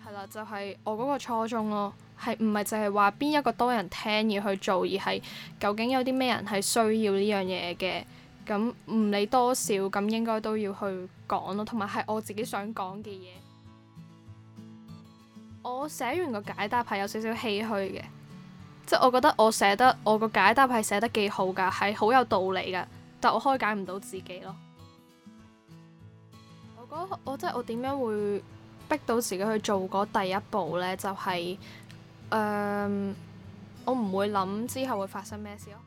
係啦，就係我嗰個初衷咯，係唔係淨係話邊一個多人聽而去做，而係究竟有啲咩人係需要呢樣嘢嘅，咁唔理多少，咁應該都要去講咯，同埋係我自己想講嘅嘢。我寫完個解答係有少少唏噓嘅，即係我覺得我個解答係寫得幾好㗎，係好有道理㗎，但我開解唔到自己咯。我覺得我點樣會逼到自己去做嗰第一步呢？就係我唔會諗之後會發生咩事咯。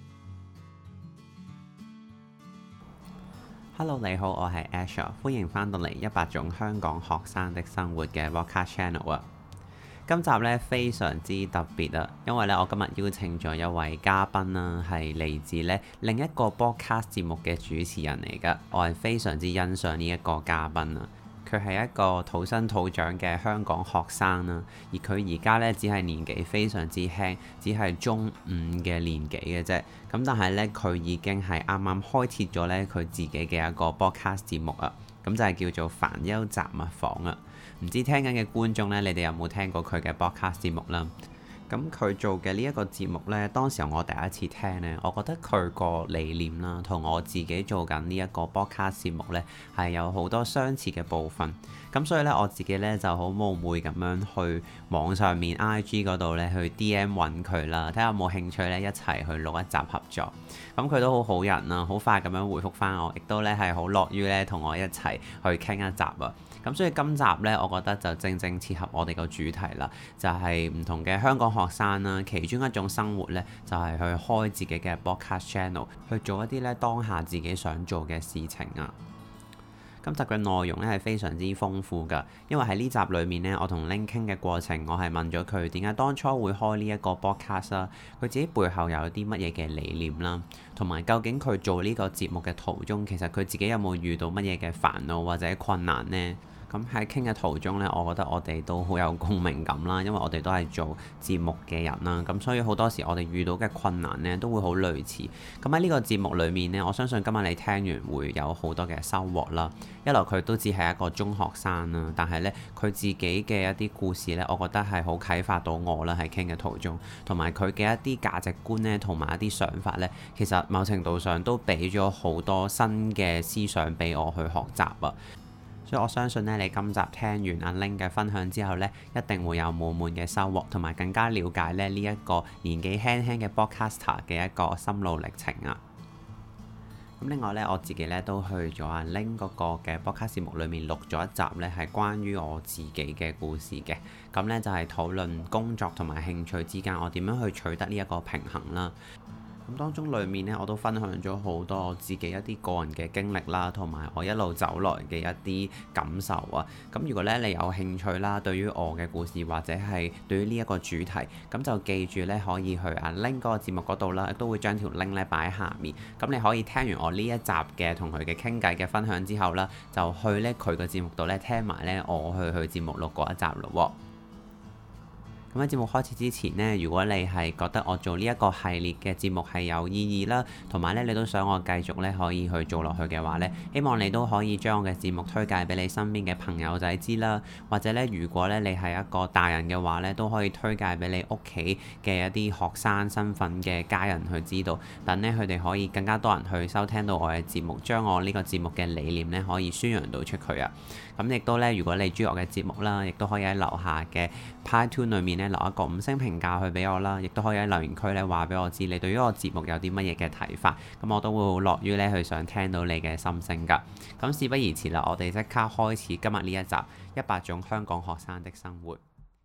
Hello， 你好，我係 Asher， 歡迎翻到嚟100種香港學生的生活嘅 Podcast Channel 啊。今集咧非常之特別啊，因為咧我今日邀請咗一位嘉賓啦，係嚟自咧另一個 Podcast 節目嘅主持人嚟噶，我係非常之欣賞呢一個嘉賓啊。佢係一個土生土長嘅香港學生啦，而佢而家咧只係年紀非常之輕，只係中五嘅年紀嘅啫。咁但係咧佢已經係啱啱開設咗咧佢自己嘅一個 podcast 節目啊，咁就係叫做煩憂雜物房啊。唔知聽緊嘅觀眾咧，你哋有冇聽過佢嘅 podcast 節目啦？咁佢做嘅呢一個節目呢，當時我第一次聽呢，我覺得佢個理念啦，同我自己做緊呢一個 podcast 節目呢，係有好多相似嘅部分。咁所以呢，我自己呢就好冒昧咁樣去網上面 IG 嗰度呢去 DM 揾佢啦，睇下有冇興趣呢一齊去錄一集合作。咁佢都好好人啦，好快咁樣回覆返我，亦都呢係好樂於呢同我一齊去傾一集啊。咁所以今集呢，我覺得就正正切合我哋個主題啦，就係唔同嘅香港學生啦，其中一種生活呢，就係去開自己嘅 podcast channel， 去做一啲呢當下自己想做嘅事情啊。今集嘅內容呢係非常之豐富㗎，因為喺呢集裡面呢，我同 Ling 傾嘅過程，我係問咗佢點解當初會開呢一個 podcast 啦，佢自己背後有啲乜嘢嘅理念啦，同埋究竟佢做呢個節目嘅途中，其實佢自己有冇遇到乜嘢嘅煩惱或者困難呢？咁喺傾嘅途中呢，我覺得我哋都好有共鳴感啦，因為我哋都係做節目嘅人啦，咁所以好多時我哋遇到嘅困難呢都會好類似。咁喺呢個節目裡面呢，我相信今日你聽完會有好多嘅收穫啦。一來佢都只係一個中學生啦，但係呢，佢自己嘅一啲故事呢，我覺得係好啟發到我啦。喺傾嘅途中，同埋佢嘅一啲價值觀呢，同埋一啲想法呢，其實某程度上都俾咗好多新嘅思想俾我去學習啊。所以我相信咧，你今集聽完阿 Ling 嘅分享之後咧，一定會有滿滿嘅收穫，同埋更加了解咧呢一個年紀輕輕嘅 podcaster 嘅一個心路歷程啊。咁另外咧，我自己咧都去咗阿 Ling 嗰個嘅 podcast 節目裏面錄咗一集咧，係關於我自己嘅故事嘅。咁咧就係討論工作同埋興趣之間，我點樣去取得呢一個平衡啦。咁當中裡面呢，我都分享咗好多我自己一啲個人嘅經歷啦，同埋我一路走來嘅一啲感受啊。咁如果咧你有興趣啦，對於我嘅故事或者係對於呢一個主題，咁就記住咧可以去阿 Ling 嗰個節目嗰度啦，亦都會將條 link 咧擺喺下面。咁你可以聽完我呢一集嘅同佢嘅傾偈嘅分享之後啦，就去咧佢個節目度咧聽埋咧我去節目錄嗰一集咯喎。咁喺節目開始之前呢，如果你係覺得我做呢一個系列嘅節目係有意義啦，同埋咧你都想我繼續咧可以去做落去嘅話咧，希望你都可以將我嘅節目推介俾你身邊嘅朋友仔知啦，或者咧如果咧你係一個大人嘅話咧，都可以推介俾你屋企嘅一啲學生身份嘅家人去知道，等咧佢哋可以更加多人去收聽到我嘅節目，將我呢個節目嘅理念咧可以宣揚到出去啊！咁亦都咧，如果你中意我嘅節目啦，亦都可以喺樓下嘅 PyTune 裏面咧留一個5星評價去俾我啦，亦都可以喺留言區咧話俾我知你對於我節目有啲乜嘢嘅睇法，咁我都會好樂於咧去想聽到你嘅心聲㗎。咁事不宜遲啦，我哋即刻開始今日呢一集100種香港學生的生活。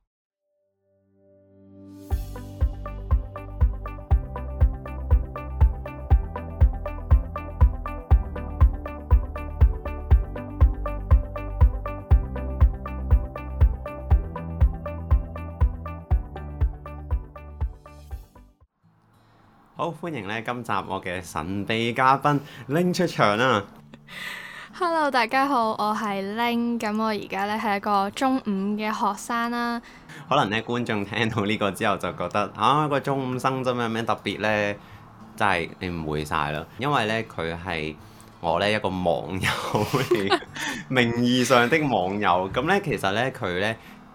好，歡迎咧今集我嘅神秘嘉賓 Ling 出場啦。 Hello， 大家好，我係 Ling， 咁我而家咧係一個中五嘅學生啦。 可能咧觀眾聽到呢個之後就覺得個中五生真係有咩特別呢？真係你誤會晒啦，因為咧佢係我咧一個網友嚟，名義上的網友。咁咧其實咧佢咧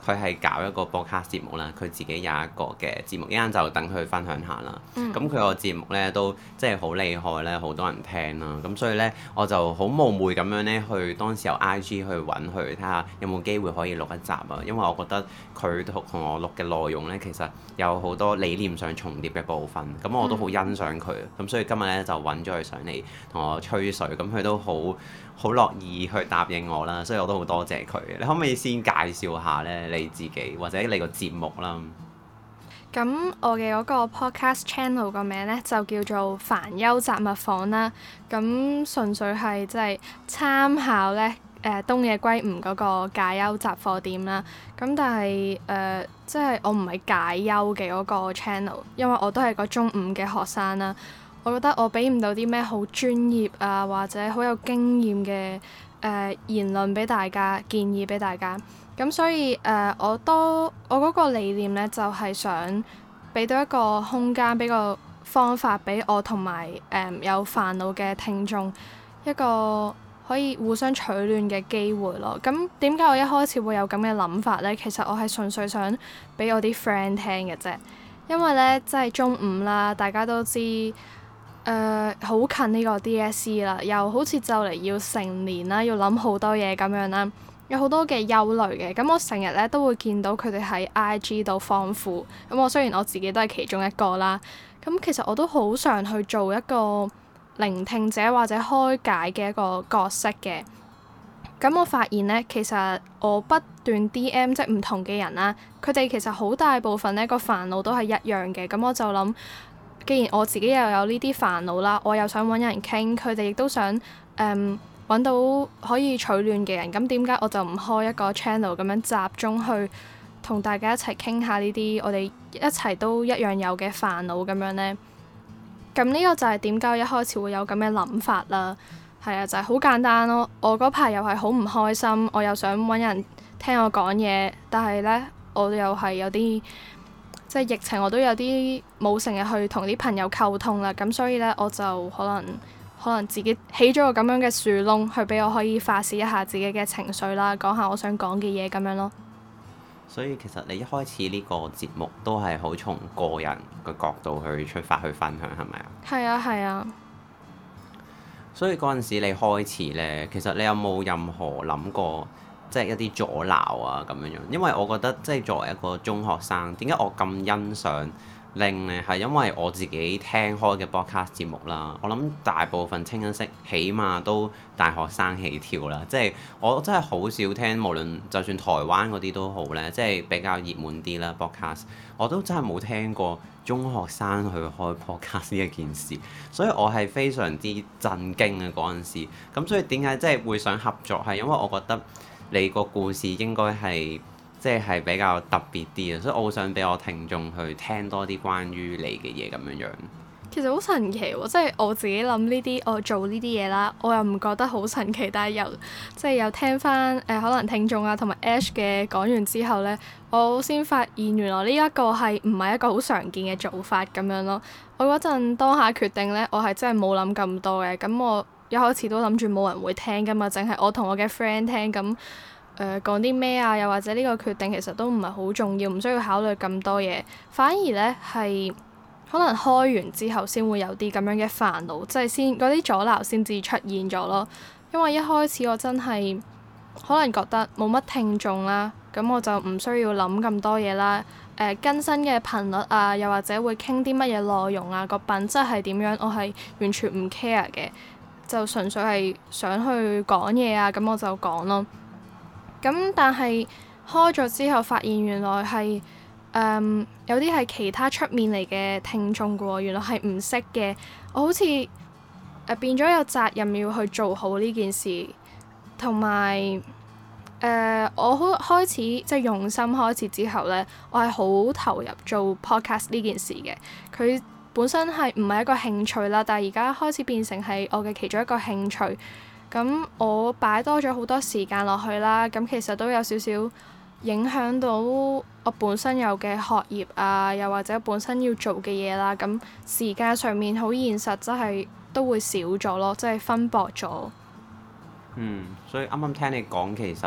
佢係搞一個播客節目啦，佢自己有一個嘅節目，一陣就等佢分享下啦。咁佢個節目咧都即係好厲害咧，好多人聽啦。咁所以咧我就好冒昧咁樣咧去當時由 IG 去揾佢睇下有冇機會可以錄一集啊，因為我覺得佢同我錄嘅內容咧其實有好多理念上重疊嘅部分，咁我都好欣賞佢。咁所以今日咧就揾咗佢上嚟同我吹水，咁佢都好樂意去答應我啦，所以我都好多謝佢。你可唔可以先介紹下咧你自己或者你個節目啦？ 咁我嘅嗰個 podcast channel 個名咧就叫做煩憂雜物房啦。咁純粹係即係參考咧東野圭吾嗰個解憂雜貨店啦。咁但係即係我唔係解憂嘅嗰個 channel，因為我都係個中五嘅學生啦。我覺得我俾唔到啲咩好專業啊，或者好有經驗嘅言論俾大家，建議俾大家。咁所以我嗰個理念咧，就係想俾到一個空間，俾個方法俾我同埋有煩惱嘅聽眾一個可以互相取暖嘅機會咯。咁點解我一開始會有咁嘅諗法咧？其實我係純粹想俾我啲 friend 聽嘅啫，因為咧即係中五啦，大家都知。好近呢個 DSE 啦，又好似就嚟要成年啦，要諗好多嘢咁樣啦，有好多嘅憂慮嘅。咁我成日咧都會見到佢哋喺 IG 度放負，咁我雖然我自己都係其中一個啦，咁其實我都好想去做一個聆聽者或者開解嘅一個角色嘅。咁我發現咧，其實我不斷 DM 即係唔同嘅人啦，佢哋其實好大部分咧個煩惱都係一樣嘅。咁我就諗，既然我自己又有呢啲煩惱啦，我又想揾人傾，佢哋亦都想揾到可以取暖嘅人，咁點解我就唔開一個 channel 咁樣集中去同大家一齊傾下呢啲我哋一齊都一樣有嘅煩惱咁樣呢？咁呢個就係點解我一開始會有咁嘅諗法啦。係啊，就係好簡單咯。我嗰排又係好唔開心，我又想揾人聽我講嘢，但係呢，我又係有啲即係疫情，我都有啲冇成日去同啲朋友溝通啦，咁所以呢，我就可能自己起咗個咁樣嘅樹窿，去俾我可以發泄一下自己嘅情緒啦，講下我想講嘅嘢咁樣咯。 所以其實你一開始呢個節目都係好從個人嘅角度去出發去分享，係咪啊？ 係啊，係啊。 所以嗰陣時你開始呢，其實你有冇任何諗過？即係一啲阻撓啊咁樣樣，因為我覺得即係作為一個中學生，點解我咁欣賞Ling呢？係因為我自己聽開嘅 podcast 節目啦，我諗大部分清一色起碼都大學生起跳啦。即係我真係好少聽，無論就算台灣嗰啲都好呢，即係比較熱門啲啦 podcast，我都真係冇聽過中學生去開 podcast 呢一件事，所以我係非常之震驚嘅嗰陣時。咁所以點解即係會想合作？係因為我覺得你個故事應該係即係比較特別啲啊，所以我好想俾我聽眾去聽多啲關於你嘅嘢咁樣樣。 其實好神奇喎，即係我自己諗呢啲，我做呢啲嘢啦，我又唔覺得好神奇，但係又聽翻可能聽眾啊同埋 Ash 嘅講完之後呢，我先發現原來呢一個係唔係一個好常見嘅做法咁樣咯。我嗰陣當下決定呢，我係真係冇諗咁多嘅，咁我一開始都諗住冇人會聽噶嘛，淨係我同我嘅 friend 聽咁。講啲咩啊？又或者呢個決定其實都唔係好重要，唔需要考慮咁多嘢。反而呢，係可能開完之後先會有啲咁樣嘅煩惱，即係先嗰啲阻撓先至出現咗咯。因為一開始我真係可能覺得冇乜聽眾啦，咁我就唔需要諗咁多嘢啦。更新嘅頻率啊，又或者會傾啲乜嘢內容啊，個品質係點樣，我係完全唔 care 嘅，就純粹係想去講嘢啊，咁我就講咯。咁但係開咗之後，發現原來係有啲係其他出面嚟嘅聽眾嘅喎，原來係唔識嘅。我好似變咗有責任要去做好呢件事，同埋我開始即係用心開始之後呢，我係好投入做 podcast 呢件事嘅。佢本身係唔係一個興趣啦，但係而家開始變成係我嘅其中一個興趣。咁我擺多咗好多時間落去啦，咁其實都有少少影響到我本身有嘅學業啊，又或者本身要做嘅嘢啦。咁時間上面好現實，真係都會少咗咯，即係分薄咗。 所以啱啱聽你講，其實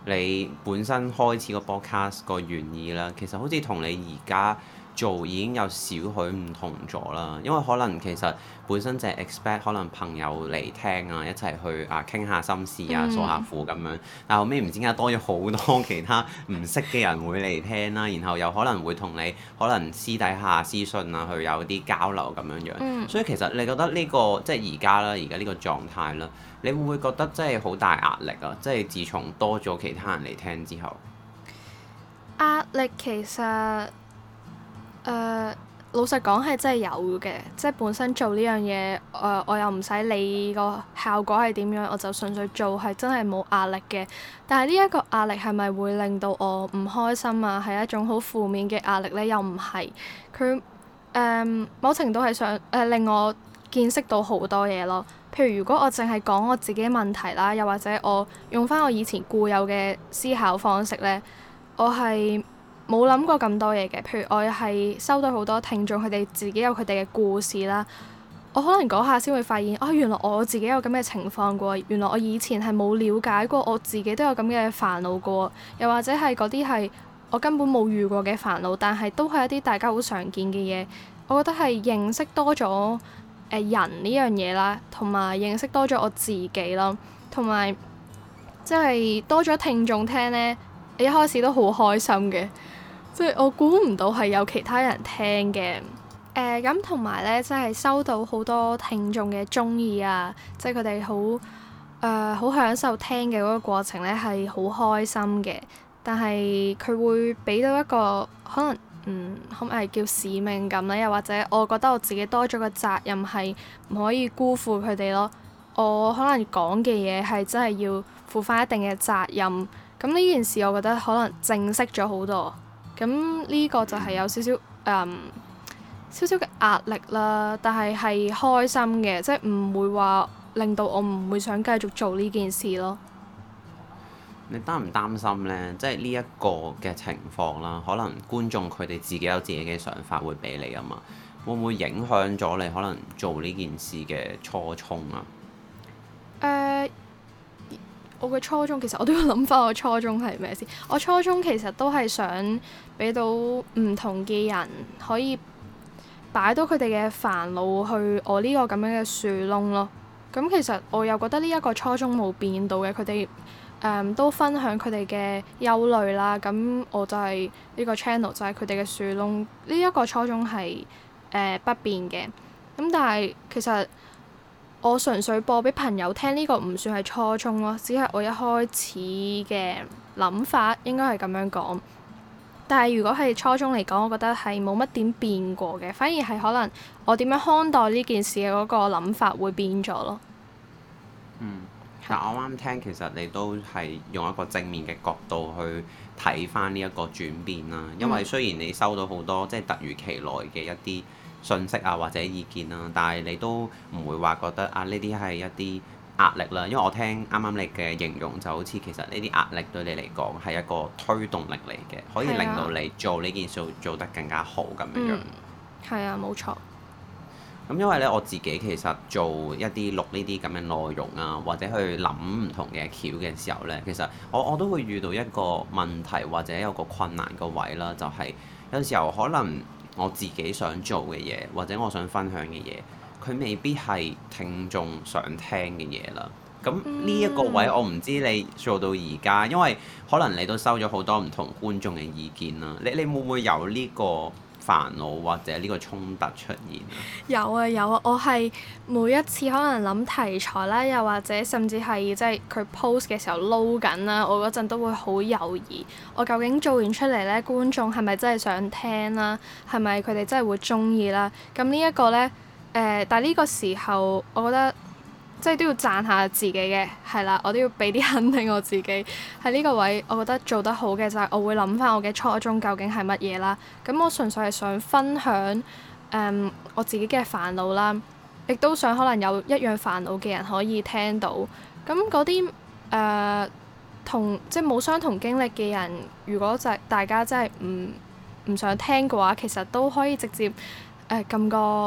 你本身開始個 podcast 個原意啦，其實好似同你而家做已經有少許唔同咗啦，因為可能其實本身就係 expect 可能朋友嚟聽啊，一齊去傾下心事啊，訴下苦咁樣。但後尾唔知點解多咗好多其他唔識嘅人會嚟聽啦，然後又可能會同你可能私底下私信啊，去有啲交流咁樣樣。所以其實你覺得呢個即係而家啦，而家呢個狀態啦，你會唔會覺得真係好大壓力啊？即係自從多咗其他人嚟聽之後， 壓力其實老實講係真係有嘅，即係本身做呢樣嘢，我又唔使理個效果係點樣，我就純粹做係真係冇壓力嘅。但係呢一個壓力係咪會令到我唔開心啊？係一種好負面嘅壓力呢？又唔係。佢某程度係想令我見識到好多嘢咯。譬如如果我淨係講我自己問題啦，又或者我用翻我以前固有嘅思考方式呢，我係冇諗過咁多嘢嘅。譬如我係收到好多聽眾，佢哋自己有佢哋嘅故事啦。我可能嗰下先會發現，原來我自己有咁嘅情況過。原來我以前係冇了解過，我自己都有咁嘅煩惱過。又或者係嗰啲係我根本冇遇過嘅煩惱，但係都係一啲大家好常見嘅嘢。我覺得係認識多咗人呢樣嘢啦，同埋認識多咗我自己咯，同埋即係多咗聽眾聽呢。一開始都好開心嘅，即係我估唔到係有其他人聽嘅。咁同埋呢，即係收到好多聽眾嘅鍾意啊，即係佢哋好享受聽嘅嗰個過程呢，係好開心嘅。但係佢會俾到一個可能可唔可以叫使命感呢？又或者我覺得我自己多咗個責任係唔可以辜負佢哋咯。我可能講嘅嘢係真係要負翻一定嘅責任。咁呢件事我覺得可能正式咗好多，咁呢個就係有少少嘅壓力啦，但係係開心嘅，即係唔會話令到我唔會想繼續做呢件事咯。 你擔唔擔心呢？即係呢一個嘅情況啦，可能觀眾佢哋自己有自己嘅想法會俾你啊嘛，會唔會影響咗你可能做呢件事嘅初衷啊？ 我嘅初衷其實我都要諗翻我初衷係咩先。我初衷其實都係想俾到唔同嘅人可以擺到佢哋嘅煩惱去我呢個咁樣嘅樹窿咯。咁其實我又覺得呢一個初衷冇變到嘅，佢哋都分享佢哋嘅憂慮啦。咁我就係呢個 channel 就係佢哋嘅樹窿，呢一個初衷係不變嘅。咁但係其實我純粹播俾朋友聽，呢個唔算係初衷咯，只係我一開始嘅諗法，應該係咁樣講。但係如果係初衷嚟講，我覺得係冇乜點變過嘅，反而係可能我點樣看待呢件事嘅嗰個諗法會變咗咯。 但我啱聽，其實你都係用一個正面嘅角度去睇翻呢一個轉變啦。因為雖然你收到好多即係突如其來嘅一啲信息啊或者意見啦，但係你都唔會話覺得呢啲係一啲壓力啦。因為我聽啱啱你嘅形容就好似其實呢啲壓力對你嚟講係一個推動力嚟嘅，可以令到你做呢件事做得更加好咁樣樣。 係啊，冇錯。 咁因為咧我自己其實做一啲錄呢啲咁嘅內容啊，或者去諗唔同嘅橋嘅時候咧，其實我都會遇到一個問題或者有個困難個位啦，就係有時候可能我自己想做嘅嘢或者我想分享嘅嘢，佢未必係聽眾想聽嘅嘢啦。咁呢一個位我唔知你做到而家，因為可能你都收咗好多唔同觀眾嘅意見啦。你會唔會有呢個煩惱或者呢個衝突出現啊？有啊，我係每一次可能諗題材啦，又或者甚至係即係佢 post 嘅時候撈緊啦，我嗰陣都會好猶豫，我究竟做完出嚟呢，觀眾係咪真係想聽啦？係咪佢哋真係會中意啦？咁呢一個呢，但係呢個時候我覺得即係都要讚下自己嘅，係啦，我都要俾啲肯定我自己喺呢個位。我覺得做得好嘅就係我會諗翻我嘅初衷究竟係乜嘢啦。咁我純粹係想分享我自己嘅煩惱啦，亦都想可能有一樣煩惱嘅人可以聽到。咁嗰啲同即係冇相同經歷嘅人，如果就係大家真係唔想聽嘅話，其實都可以直接撳個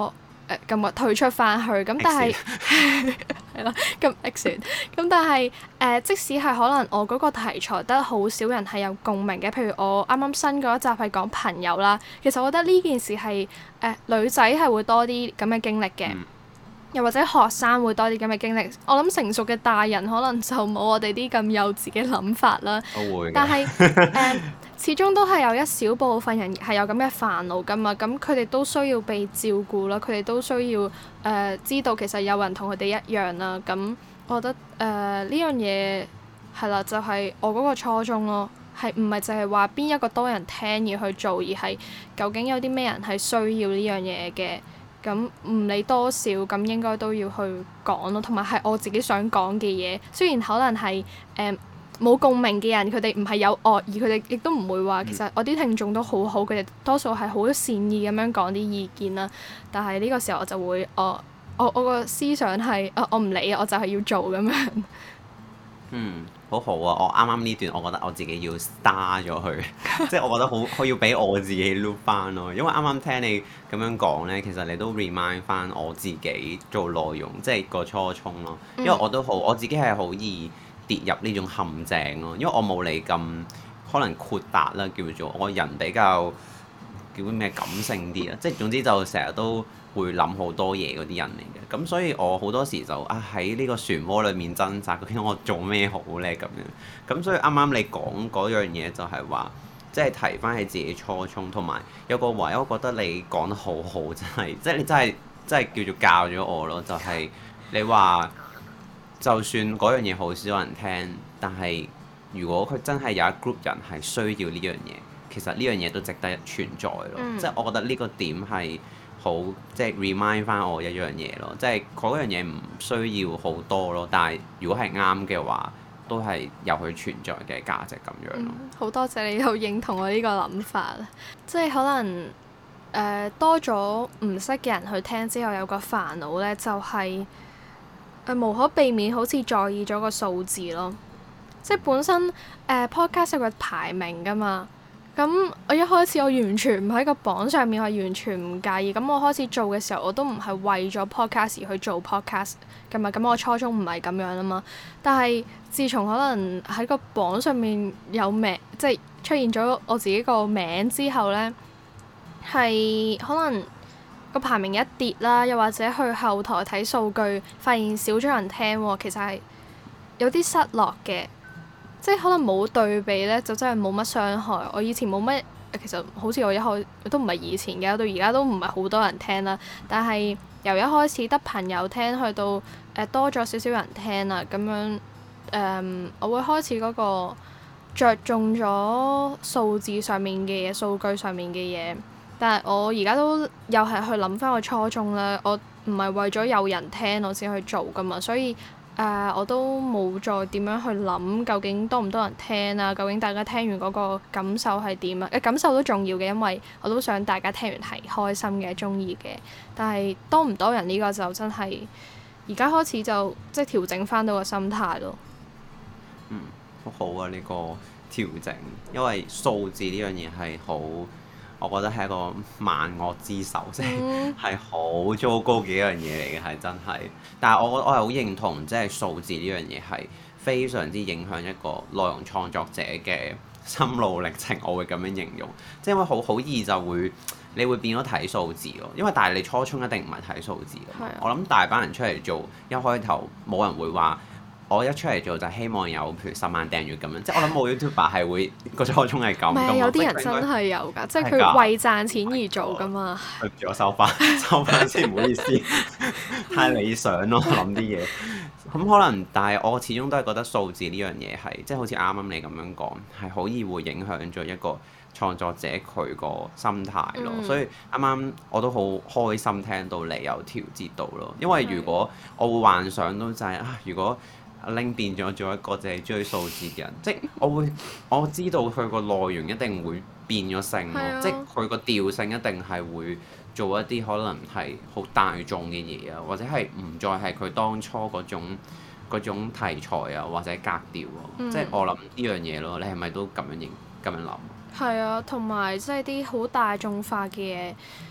咁退出翻去，咁但係係啦，咁 exit 咁但係即使係可能我嗰個題材得好少人係有共鳴嘅，譬如我啱啱新嗰一集係講朋友啦，其實我覺得呢件事係女仔係會多啲咁嘅經歷嘅。又或者學生會多啲咁嘅經歷，我諗成熟嘅大人可能就冇我哋啲咁幼稚嘅諗法啦。 都會嘅。 但係始終都係有一小部分人係有咁嘅煩惱㗎嘛，咁佢哋都需要被照顧啦，佢哋都需要知道其實有人同佢哋一樣啦。咁我覺得呢樣嘢係啦，就係我嗰個初衷咯，係唔係淨係話邊一個多人聽而去做，而係究竟有啲咩人係需要呢樣嘢嘅。咁唔理多少，咁應該都要去講咯，同埋係我自己想講嘅嘢。雖然可能係冇共鳴嘅人，佢哋唔係有惡意，佢哋亦都唔會話其實我啲聽眾都好好，佢哋多數係好善意咁樣講啲意見啦。但係呢個時候我就會我個思想係我唔理啊，我就係要做咁樣。 好好啊！我啱啱呢段，我覺得我自己要 star 咗佢，即係我覺得好要俾我自己 loop 翻咯。因為啱啱聽你咁樣講呢，其實你都 remind 翻我自己做內容，即係個初衷咯。因為我自己係好易跌入呢種陷阱咯。因為我冇你咁可能豁達啦，叫做我人比較叫咩感性啲啊，即係總之就成日都會諗好多嘢嗰啲人嚟嘅。咁所以我好多時就喺呢個漩渦裡面掙扎，究竟我做咩好呢？咁樣。咁所以啱啱你講嗰樣嘢就係話，即係提翻起自己初衷，同埋有個位，我覺得你講得好好，真係，即係你真係叫做教咗我咯。就係你話，就算嗰樣嘢好少人聽，但係如果佢真係有一 group 人係需要呢樣嘢，其實呢樣嘢都值得存在咯。即係我覺得呢個點係。好，即係 remind 翻我一樣嘢咯，即係嗰樣嘢唔需要好多咯，但係如果係啱嘅話，都係有佢存在嘅價值咁樣咯。 好多謝你又認同我呢個諗法，即係可能多咗唔識嘅人去聽之後，有個煩惱呢，就係無可避免好似在意咗個數字咯，即係本身podcast 有個排名㗎嘛。咁我一開始我完全唔喺個榜上面，我完全唔介意。咁我開始做嘅時候，我都唔係為咗 podcast 而去做 podcast 㗎嘛。咁我初衷唔係咁樣啊嘛。但係自從可能喺個榜上面有名，即係出現咗我自己個名之後呢，係可能個排名一跌啦，又或者去後台睇數據，發現少咗人聽喎，其實係有啲失落嘅。即係可能冇對比咧，就真係冇乜傷害。我以前冇乜，其實好似我一開都唔係以前嘅，到而家都唔係好多人聽啦。但係由一開始得朋友聽，去到多咗少少人聽啦，咁樣我會開始嗰個着重咗數字上面嘅嘢、數據上面嘅嘢。但係我而家都又係去諗翻個初衷啦。我唔係為咗有人聽我先去做噶嘛，所以。我都冇再點樣去諗究竟多唔多人聽啊？究竟大家聽完嗰個感受係點啊？感受都重要嘅，因為我都想大家聽完係開心嘅、中意嘅。但係多唔多人呢個就真係而家開始就即係調整翻到個心態咯。 好好啊！呢個調整，因為數字呢樣嘢係好。我覺得係一個萬惡之首，即係好糟糕嘅一樣嘢嚟嘅，係真係。但係我係好認同，即係數字呢樣嘢係非常之影響一個內容創作者嘅心路歷程。我會咁樣形容，即係因為好易就會你會變咗睇數字咯。因為但係你初衷一定唔係睇數字㗎嘛。我諗大班人出嚟做，一開頭冇人會話。我一出嚟做就希望有譬如10萬訂閱咁樣，即係我諗冇 YouTuber 係會個初衷係咁。唔係有啲人真係有㗎，即係佢為賺錢而做㗎嘛。 對唔住，我收翻先，唔好意思，太理想咯，諗啲嘢。咁可能，但係我始終都係覺得數字呢樣嘢係，即係好似啱啱你咁樣講，係好易會影響咗一個創作者佢個心態咯。所以啱啱我都好開心聽到你有調節到咯，因為如果我會幻想到就係如果阿 Ling 變咗做一個淨係追數字嘅人，即係我知道佢個內容一定會變咗性咯，即係佢個調性一定係會做一啲可能係好大眾嘅嘢啊，或者係唔再係佢當初嗰種題材啊，或者格調喎，即係我諗呢樣嘢咯。你係咪都咁樣諗？係啊，同埋即係啲好大眾化嘅嘢。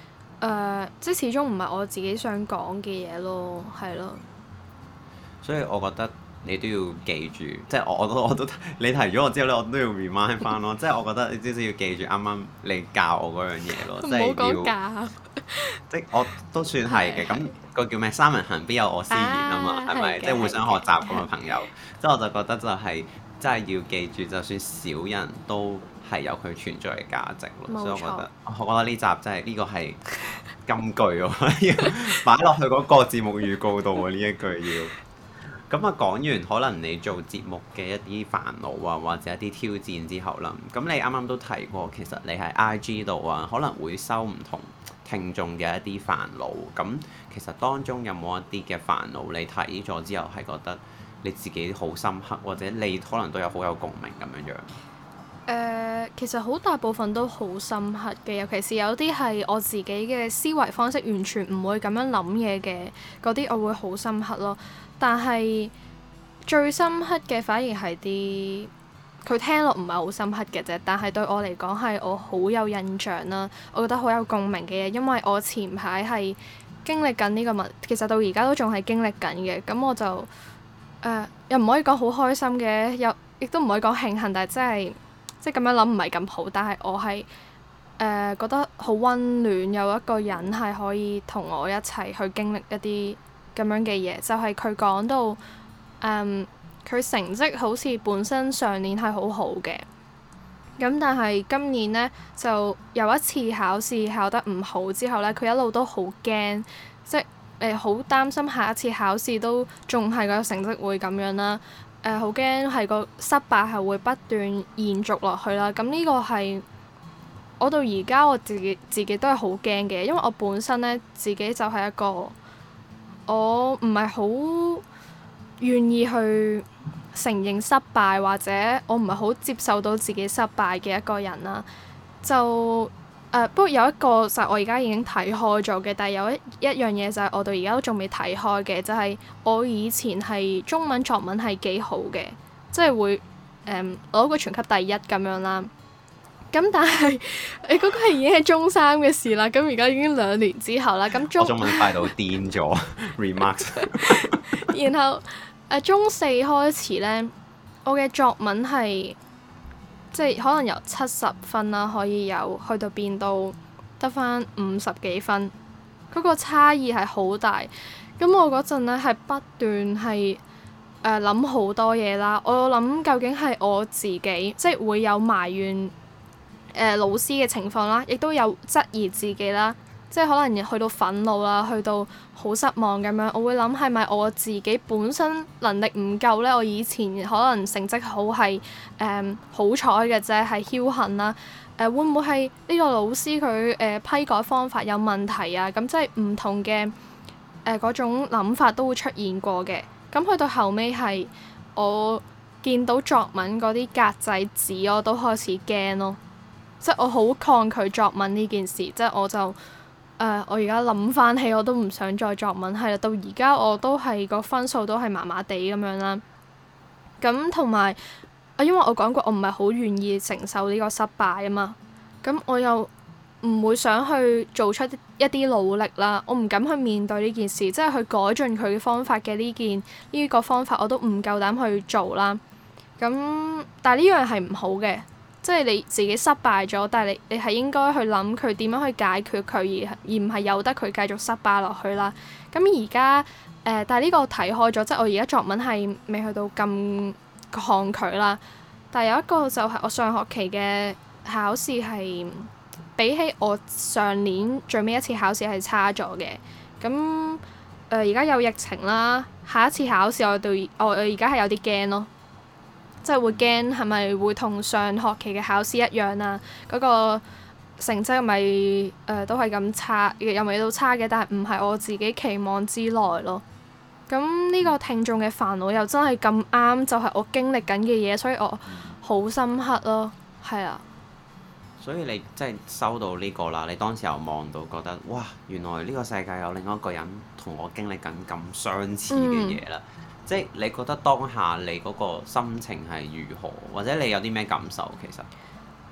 即係始終唔係我自己想講嘅嘢咯，係咯。 所以我覺得你都要記住，即係我都你提咗我之後咧，我都要 remind 翻咯。即係我覺得你至少要記住啱啱你教我嗰樣嘢咯，即係要。唔好講教。即係我都算係嘅，咁個叫咩？三人行必有我師焉啊嘛，係咪？即係互相學習咁嘅朋友。即係我就覺得就係真係要記住，就算少人都係有佢存在嘅價值咯。所以我覺得呢集真係呢個係金句喎，要擺落去嗰個節目預告度喎，呢一句要。咁啊，講完可能你做節目嘅一啲煩惱啊，或者一啲挑戰之後啦，咁你啱啱都提過，其實你喺 IG 度啊，可能會收唔同聽眾嘅一啲煩惱。咁其實當中有冇一啲嘅煩惱，你睇咗之後係覺得你自己好深刻，或者你可能都有好有共鳴咁樣樣？ 其實好大部分都好深刻嘅，尤其是有啲係我自己嘅思維方式完全唔會咁樣諗嘢嘅嗰啲，我會好深刻咯。但係最深刻嘅反而係啲佢聽落唔係好深刻嘅啫，但係對我嚟講係我好有印象啦，我覺得好有共鳴嘅嘢，因為我前排係經歷緊呢個問，其實到而家都仲係經歷緊嘅，咁我就又唔可以講好開心嘅，又亦都唔可以講慶幸，但係即係咁樣諗唔係咁好，但係我係覺得好溫暖，有一個人係可以同我一齊去經歷一啲咁樣嘅嘢，就係佢講到佢成績好似本身上年係好好嘅，咁但係今年呢，就有一次考試考得唔好之後呢，佢一路都好驚，即係好擔心下一次考試都仲係個成績會咁樣啦，好驚係個失敗係會不斷延續落去啦。咁呢個係我到而家我自己都係好驚嘅，因為我本身呢，自己就係一個我唔係好願意去承認失敗，或者我唔係好接受到自己失敗嘅一個人啦。就不過有一個就係我而家已經睇開咗嘅，但係有一樣嘢就係我到而家都仲未睇開嘅，就係我以前係中文作文係幾好嘅，即係會攞個全級第一咁樣啦。咁但係嗰個係已經係中三嘅事啦，咁而家已經2年之後啦。咁我中文快到癲咗 remarks。 然後中四開始呢，我嘅作文係即係可能由70分啦，可以有去到變到得返50幾分，嗰個差異係好大。咁我嗰陣呢係不斷係諗好多嘢啦，我諗究竟係我自己即係會有埋怨老師嘅情況啦，亦都有質疑自己啦，即係可能去到憤怒啦，去到好失望咁樣。我會諗係咪我自己本身能力唔夠呢？我以前可能成績好係好彩嘅啫，係僥倖啦。會唔會係呢個老師佢批改方法有問題啊？咁即係唔同嘅嗰種諗法都會出現過嘅。咁去到後尾係我見到作文嗰啲格仔紙，我都開始驚咯。即係我好抗拒作文呢件事，即係我就我而家諗翻起我都唔想再作文，係啦，到而家我都係個分數都係麻麻地咁樣啦。咁同埋因為我講過我唔係好願意承受呢個失敗啊嘛，咁我又唔會想去做出一啲努力啦，我唔敢去面對呢件事，即係去改進佢嘅方法嘅呢個方法我都唔夠膽去做啦。咁但係呢樣係唔好嘅。即係你自己失敗咗，但係你係應該去諗佢點樣去解決佢，而唔係由得佢繼續失敗落去啦。咁而家但係呢個睇開咗，即係我而家作文係未去到咁抗拒啦。但係有一個就係我上學期嘅考試係比起我上年最尾一次考試係差咗嘅。咁而家有疫情啦，下一次考試我而家係有啲驚咯。即係會驚係咪會同上學期嘅考試一樣啊？嗰個成績咪都係咁差，又未到差嘅，但係唔係我自己期望之內咯。咁呢個聽眾嘅煩惱又真係咁啱，就係我經歷緊嘅嘢，所以我好深刻咯。係啊。 所以你即係收到呢個啦，你當時又望到覺得哇，原來呢個世界有另一個人同我經歷緊咁相似嘅嘢啦。即係你覺得當下你嗰個心情係如何，或者你有啲咩感受？其實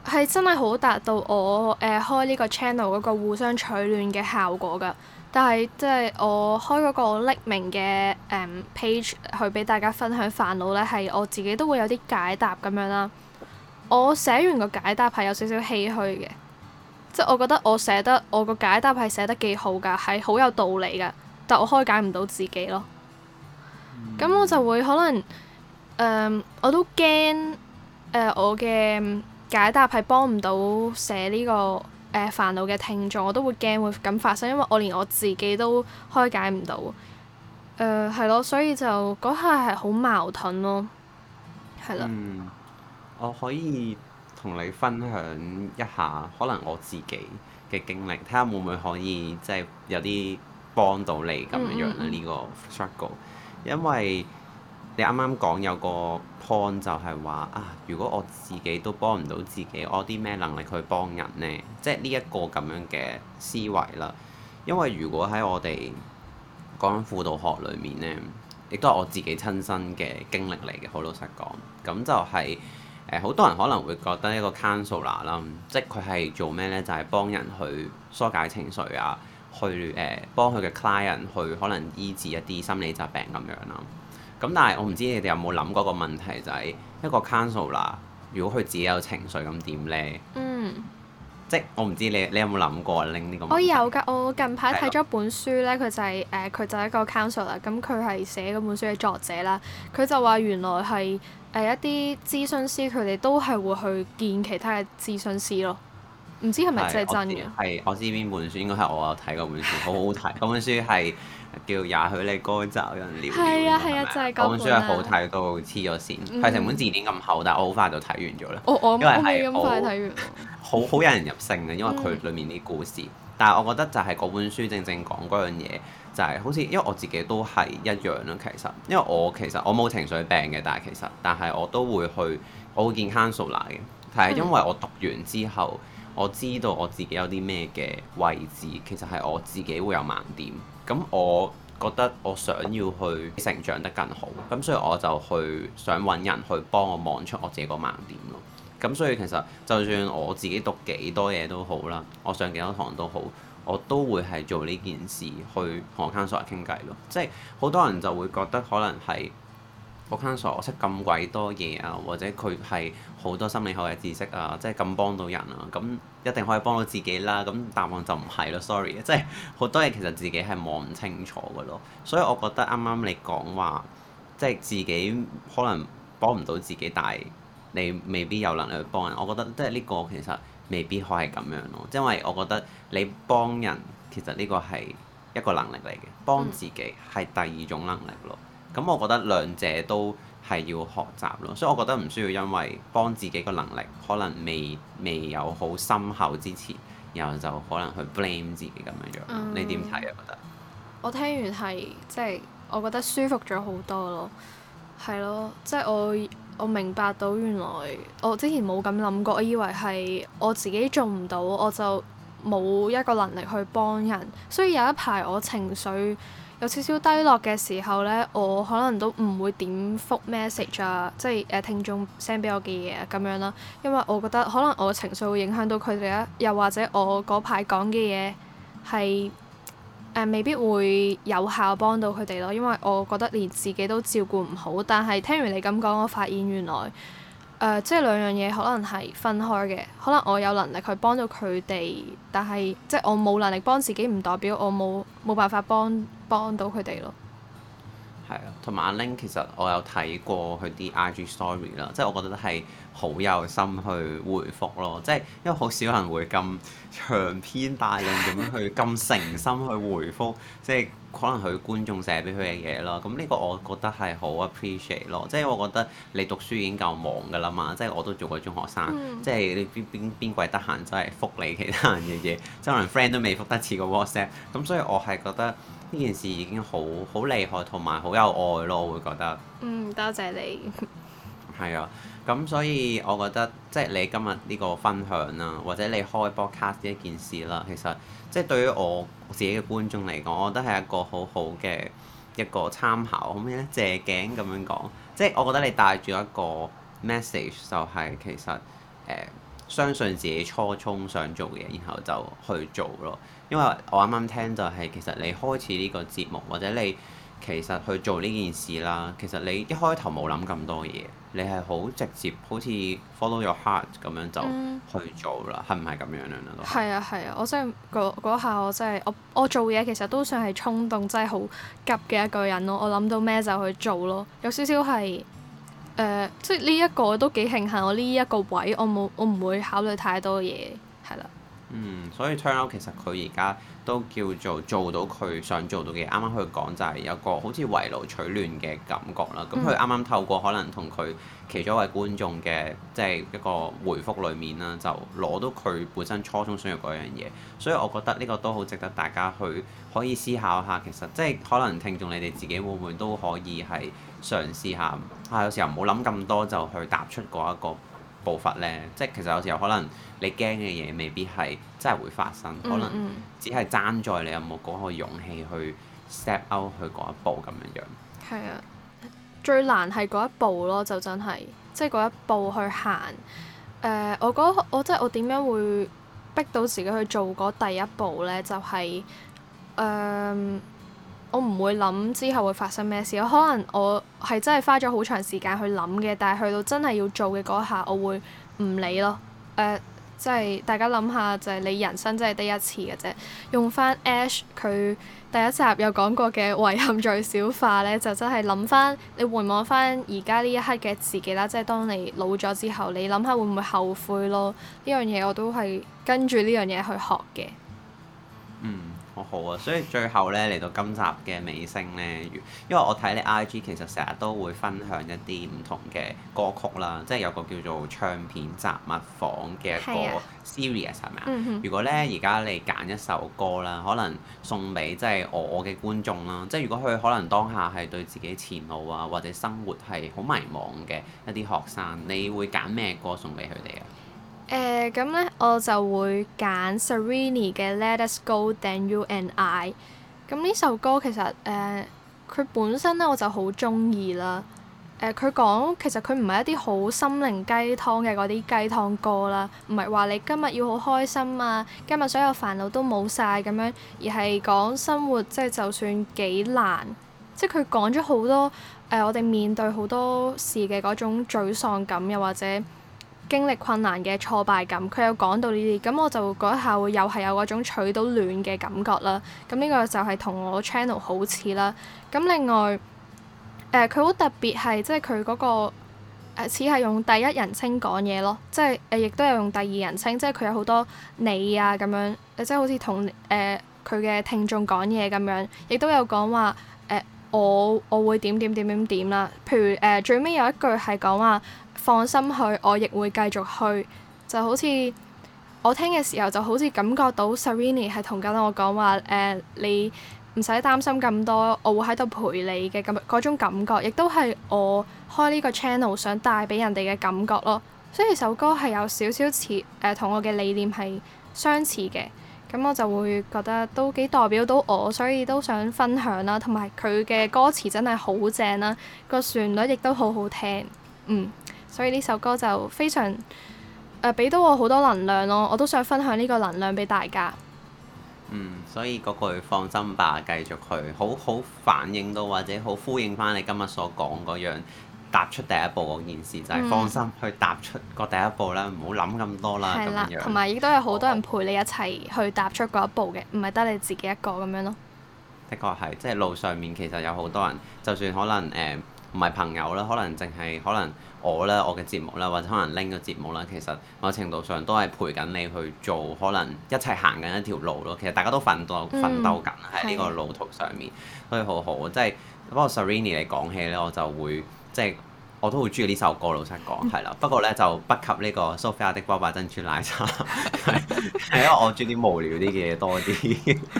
係真係好達到我開呢個 channel 嗰個互相取暖嘅效果㗎。但係即係我開嗰個匿名嘅page 去俾大家分享煩惱咧，係我自己都會有啲解答咁樣啦。我寫完個解答係有少少唏噓嘅，即係我覺得我個解答係寫得幾好㗎，係好有道理㗎，但我開解唔到自己咯。咁我就會可能我都驚我嘅解答係幫唔到寫呢個煩惱嘅聽眾，我都會驚會咁發生，因為我連我自己都開解唔到。係咯，所以就嗰下係好矛盾咯，係咯。 我可以同你分享一下，可能我自己嘅經歷，睇下會唔會可以即係有啲幫到你咁樣樣呢個 struggle。因為你啱啱講有個 point 就係話啊，如果我自己都幫唔到自己，我有啲咩能力去幫人呢？即係呢一個咁樣嘅思維啦。因為如果喺我哋講緊輔導學裏面呢，亦都係我自己親身嘅經歷嚟嘅，好老實講。咁就係好多人可能會覺得一個 counselor 啦，即係佢係做咩呢？就係幫人去疏解情緒啊，去幫佢嘅 client 去可能醫治一啲心理疾病咁樣啦。咁但係我唔知你哋有冇諗過個問題，就係一個 counselor 如果佢自己有情緒咁點呢？即係我唔知你有冇諗過拎呢個問題？ 我有㗎，我近排睇咗本書咧，佢就係一個 counselor，咁佢係寫嗰本書嘅作者啦。佢就話原來係一啲諮詢師，佢哋都係會去見其他嘅諮詢師咯。唔知係咪真係真嘅？ 係我知邊本書，應該係我有睇嗰本書，好好睇。嗰本書係叫《也許你該找人聊聊》。 係啊，就係嗰本。 嗰本書係好睇到黐咗線，係成本字典咁厚，但係我好快就睇完咗啦。 我未咁快睇完。 好引人入勝嘅，因為佢裡面啲故事。但係我覺得就係嗰本書正正講嗰樣嘢，就係好似因為我自己都係一樣啦。其實因為我冇情緒病嘅，但係我都會見 counselor 嘅。但係因為我讀完之後，我知道我自己有啲咩嘅位置，其實係我自己會有盲點。咁我覺得我想要去成長得更好，咁所以我就想揾人去幫我望出我自己個盲點咯。咁所以其實就算我自己讀幾多嘢都好啦，我上幾多堂都好，我都會係做呢件事去同我 counselor 傾偈咯。即係好多人就會覺得可能係個 counselor 識咁鬼多嘢啊，或者佢係好多心理學嘅知識啊，即係咁幫到人啊，咁一定可以幫到自己啦。咁答案就唔係咯，sorry，即係好多嘢其實自己係望唔清楚嘅咯。所以我覺得啱啱你講話，即係自己可能幫唔到自己，但係你未必有能力去幫人。我覺得即係呢個其實未必可以咁樣咯，因為我覺得你幫人其實呢個係一個能力嚟嘅，幫自己係第二種能力咯。咁我覺得兩者都係要學習咯，所以我覺得唔需要因為幫自己個能力可能未有好深厚之前，然後就可能去 blame 自己咁樣樣。你點睇啊？覺得我聽完係即係我覺得舒服咗好多咯，係咯，即係我明白到原來我之前冇咁諗過，我以為係我自己做唔到，我就冇一個能力去幫人。所以有一排我情緒有少少低落嘅時候咧，我可能都唔會點覆 message 啊，即係聽眾 send 俾我嘅嘢啊咁樣啦，因為我覺得可能我嘅情緒會影響到佢哋啊，又或者我嗰排講嘅嘢係未必會有效幫到佢哋咯，因為我覺得連自己都照顧唔好。但係聽完你咁講，我發現原來即係兩樣嘢可能係分開嘅。可能我有能力去幫到佢哋，但係即係我冇能力幫自己，唔代表我冇辦法幫到佢哋咯。 係啊，同埋阿 Ling 其實我有睇過佢啲 IG story 啦，即係我覺得係好有心去回覆咯，即係因為好少人會咁長篇大論咁樣去咁誠心去回覆，即係可能佢觀眾寫俾佢嘅嘢咯。咁呢個我覺得係好 appreciate 咯，即係我覺得你讀書已經夠忙㗎啦嘛，即係我都做過中學生，即係你邊鬼得閒真係覆你其他人嘅嘢，即係可能 friend 都未覆得似個 WhatsApp，咁所以我係覺得呢件事已經好厲害同埋好有愛咯，我會覺得。 多謝你。係啊，咁所以我覺得即係你今日呢個分享啦，或者你開 podcast 呢一件事啦，其實即係對於我自己嘅觀眾嚟講，我覺得係一個好好嘅一個參考。咁咧借鏡咁樣講，即係我覺得你帶住一個 message 就係其實相信自己初衷想做嘅嘢，然後就去做咯。因為我啱啱聽就係其實你開始呢個節目或者你其實去做呢件事啦，其實你一開頭冇諗咁多嘢，你係好直接，好似 follow your heart 咁樣就去做啦，係唔係咁樣樣啊？都係啊係啊，我真係嗰下我真係我做嘢其實都算係衝動，真係好急嘅一個人咯。我諗到咩就去做咯，有少少係即係呢一個都幾慶幸，我呢一個位我唔會考慮太多嘢，係啦。 所以 turn out 其實佢而家都叫做到佢想做到嘅。啱啱佢講就係有個好似圍爐取暖嘅感覺啦。咁佢啱啱透過可能同佢其中一位觀眾嘅即係一個回覆裡面啦，就攞到佢本身初衷想要嗰樣嘢。所以我覺得呢個都好值得大家去可以思考下。其實即係可能聽眾你哋自己會唔會都可以係嘗試下有時候唔好諗咁多就去踏出嗰一個步伐呢。即係其實有時候可能你驚嘅嘢未必係真係會發生，可能只係爭在你有冇嗰個勇氣去 step out 去嗰一步咁樣樣。 係啊，最難係嗰一步咯，就真係即係嗰一步去行。我覺得我即係我點樣會逼到自己去做嗰第一步呢？就係我唔會諗之後會發生咩事，可能我係真係花咗好長時間去諗嘅，但係去到真係要做嘅嗰下，我會唔理咯。即係大家諗下，就係你人生真係得一次嘅啫。用翻 Ash 佢第一集有講過嘅遺憾最小化呢，就真係諗翻你回望翻而家呢一刻嘅自己啦，即係當你老咗之後，你諗下會唔會後悔咯？呢樣嘢我都係跟住呢樣嘢去學嘅。 好啊，所以最後咧嚟到今集嘅尾聲咧，因為我睇你 IG 其實成日都會分享一啲唔同嘅歌曲啦，即係有個叫做唱片雜物房嘅一個 series 係咪啊？如果咧而家你揀一首歌啦，可能送俾即係我嘅觀眾啦，即係如果佢可能當下係對自己前路啊或者生活係好迷茫嘅一啲學生，你會揀咩歌送俾佢哋啊？ 咁咧我就會揀 Serrini 嘅 Let Us Go Then You and I。咁呢首歌其實佢本身咧我就好中意啦。佢講其實佢唔係一啲好心靈雞湯嘅嗰啲雞湯歌啦，唔係話你今日要好開心啊，今日所有煩惱都冇晒咁樣，而係講生活即係就算幾難，即係佢講咗好多我哋面對好多事嘅嗰種沮喪感，又或者經歷困難嘅挫敗感，佢有講到呢啲，咁我就嗰一下會又係有嗰種取到暖嘅感覺啦。咁呢個就係同我 channel 好似啦。咁另外佢好特別係即係佢嗰個似係用第一人稱講嘢咯，即係亦都有用第二人稱，即係佢有好多你啊咁樣，即係好似同佢嘅聽眾講嘢咁樣，亦都有講話我會點啦。譬如最尾有一句係講話，放心去，我亦會繼續去。就好似我聽嘅時候，就好似感覺到 Serrini 係同緊我講話你唔使擔心咁多，我會喺度陪你嘅咁嗰種感覺，亦都係我開呢個 channel 想帶俾人哋嘅感覺咯。所以首歌係有少少似同我嘅理念係相似嘅，咁我就會覺得都幾代表到我，所以都想分享啦。同埋佢嘅歌詞真係好正啦，個旋律亦都好好聽。所以呢首歌就非常俾到我好多能量咯，我都想分享呢個能量俾大家。 所以嗰句放心吧，繼續去，好反映到或者好呼應翻你今日所講嗰樣，踏出第一步嗰件事就係放心去踏出個第一步啦，唔好諗咁多啦咁樣。 同埋亦都有好多人陪你一齊去踏出嗰一步嘅，唔係得你自己一個咁樣咯。 的確係，即係路上面其實有好多人，就算可能唔係朋友啦，可能淨係可能我啦，我嘅節目啦，或者可能拎個節目啦，其實某程度上都係陪緊你去做，可能一齊行緊一條路咯。其實大家都奮鬥緊喺呢個路途上面，所以好好。即係不過 Serrini 嚟講起咧，我就會即係我都好中意呢首歌，老實講係啦。不過咧就不及呢個 Sophia 的波霸珍珠奶茶，係因為我中意啲無聊啲嘅嘢多啲。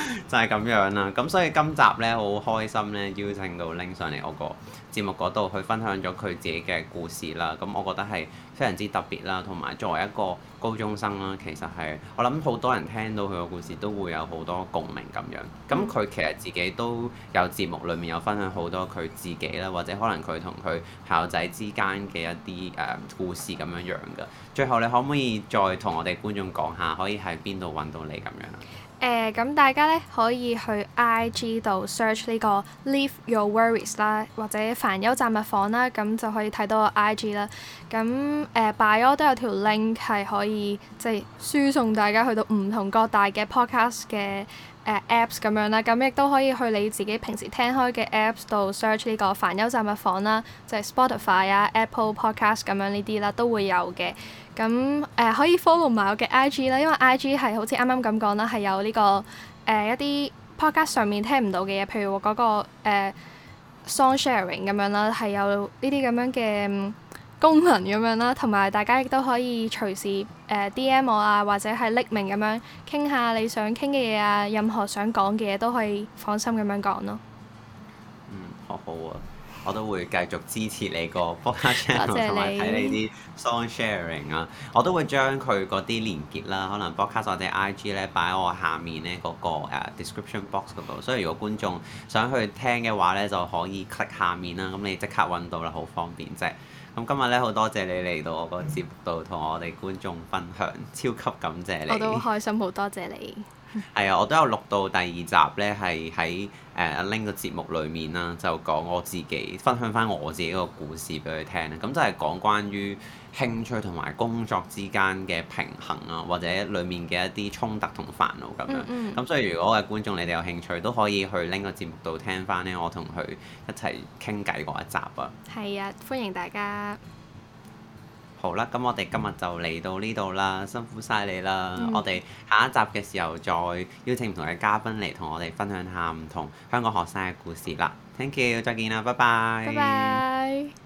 就係咁樣啦。咁所以今集呢，好開心呢，邀請到拎上嚟我個節目嗰度去分享咗佢自己嘅故事啦。咁我覺得係非常之特別啦，同埋作為一個高中生啦，其實係我諗好多人聽到佢個故事都會有好多共鳴咁樣。咁佢其實自己都有節目裡面有分享好多佢自己啦，或者可能佢同佢校仔之間嘅一啲故事咁樣樣㗎。最後你可唔可以再同我哋觀眾講下，可以喺邊度揾到你咁樣啊？ 咁大家咧可以去 IG 度 search 呢個 Leave Your Worries 啦，或者煩憂雜物房啦，咁就可以睇到我 IG 啦。咁bio 都有條 link 係可以即係輸送大家去到唔同各大嘅 podcast 嘅apps 咁樣啦。咁亦都可以去你自己平時聽開嘅 apps 度 search 呢個煩憂雜物房啦，就係 Spotify 啊、Apple Podcast 咁樣呢啲啦，都會有嘅。咁可以 follow 埋我嘅 IG 啦，因為 IG 係好似啱啱咁講啦，係有呢個一啲 podcast 上面聽唔到嘅嘢，譬如嗰個song sharing 咁樣啦，係有呢啲咁樣嘅功能咁樣啦，同埋大家亦都可以隨時DM 我啊，或者係匿名咁樣傾下你想傾嘅嘢啊，任何想講嘅嘢都可以放心咁樣講咯。 好好啊！我都會繼續支持你個 podcast channel 同埋睇你啲 song sharing 啊！我都會將佢嗰啲連結啦，可能 podcast 或者 IG 咧擺喺我下面咧嗰個description box 嗰度，所以如果觀眾想去聽嘅話咧，就可以 click 下面啦，咁你即刻揾到啦，好方便啫！咁今日咧好多謝你嚟到我個節目度同我哋觀眾分享，超級感謝你！ 我都好開心，好多謝你。 係啊，我都有錄到第二集咧，係喺阿拎個節目裡面啦，就講我自己分享翻我自己個故事俾佢聽啦。咁就係講關於興趣同埋工作之間嘅平衡啊，或者裡面嘅一啲衝突同煩惱咁樣。咁所以如果嘅觀眾你哋有興趣，都可以去拎個節目度聽翻呢，我同佢一齊傾偈嗰一集啊。 係啊，歡迎大家。 好啦，咁我哋今日就嚟到呢度啦，辛苦晒你啦！我哋下一集嘅時候再邀請唔同嘅嘉賓嚟同我哋分享下唔同香港學生嘅故事啦。Thank you，再見啦，拜拜。 拜拜。